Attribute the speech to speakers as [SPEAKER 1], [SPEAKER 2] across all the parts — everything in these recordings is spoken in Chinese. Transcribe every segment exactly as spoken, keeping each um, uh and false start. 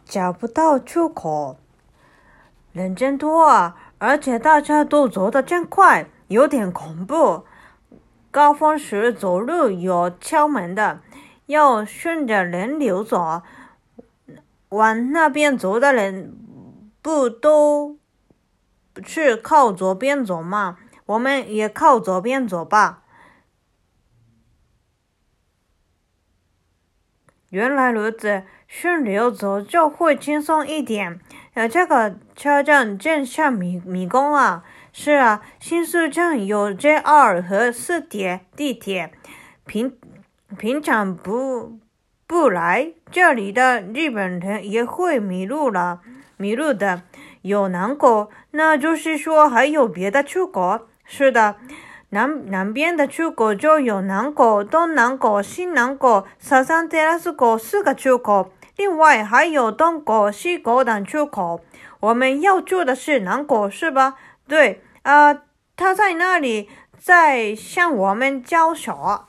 [SPEAKER 1] 找不到出口。人真多啊，而且大家都走得真快，有点恐怖。高峰时走路有窍门的，要顺着人流走。往那边走的人不都是靠左边走吗？我们也靠左边走吧。原来如此，顺流走就会轻松一点。呃，这个车站真像迷迷宫啊！是啊，新宿站有 J R 和四铁地铁，平平常不不来这里的日本人也会迷路了，迷路的。有南口，那就是说还有别的出口。是的。南南边的出口就有南口、东南口、西南口、サザンテラス口四个出口，另外还有东口、西口等出口。我们要住的是南口，是吧？对，啊、呃，他在那里在向我们招手。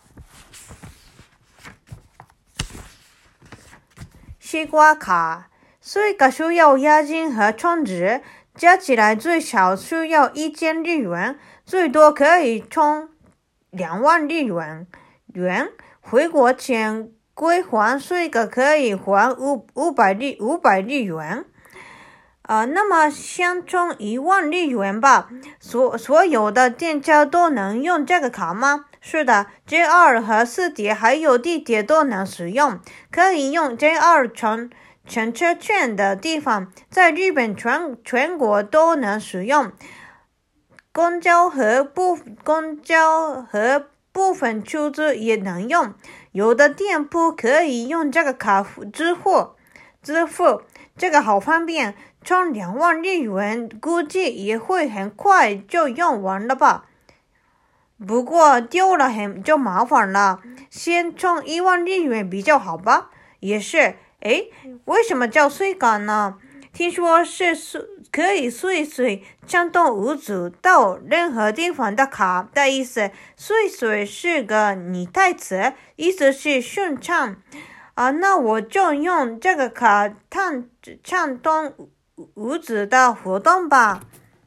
[SPEAKER 1] 西瓜卡，四个需要押金和充值，加起来最少需要一千日元。最多可以充两万日元，元回国前归还税个可以还五五百日五百日元，啊、呃，那么先充一万日元吧。所所有的店家都能用这个卡吗？是的 ，J R 和四铁还有地铁都能使用，可以用 J R 乘乘车券的地方，在日本全全国都能使用。公交和部公交和部分出租也能用，有的店铺可以用这个卡支付支付，这个好方便。充两万日元估计也会很快就用完了吧。不过丢了很就麻烦了，先充一万日元比较好吧。也是，诶，为什么叫随卡呢？听说是可以随随畅通无阻到任何地方的卡的意思。随随是个拟态词，意思是顺畅啊。那我就用这个卡畅畅通无阻的活动吧。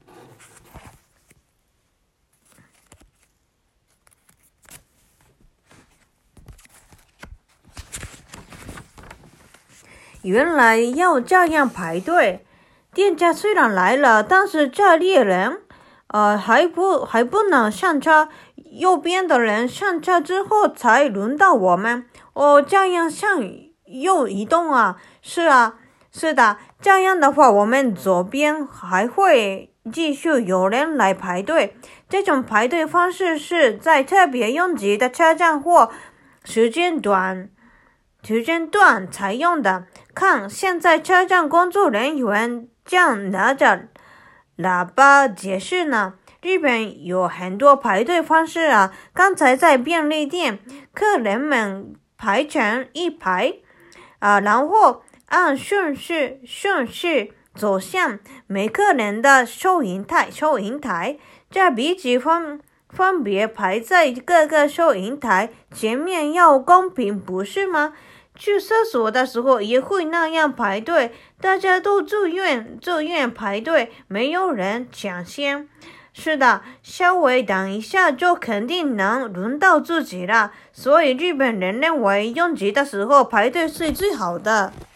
[SPEAKER 1] 原来要这样排队，店家虽然来了，但是这列人，呃，还不还不能上车。右边的人上车之后才轮到我们。哦，这样向右移动啊？是啊，是的。这样的话，我们左边还会继续有人来排队。这种排队方式是在特别拥挤的车站或时间短。时间段采用的。看，现在车站工作人员正拿着喇叭解释呢。日本有很多排队方式啊。刚才在便利店，客人们排成一排啊，然后按顺序顺序走向每个人的收银台。收银台，这笔记分分别排在各个收银台前面，要公平，不是吗？去厕所的时候也会那样排队，大家都自愿自愿排队，没有人抢先。是的，稍微等一下就肯定能轮到自己了，所以日本人认为拥挤的时候排队是最好的。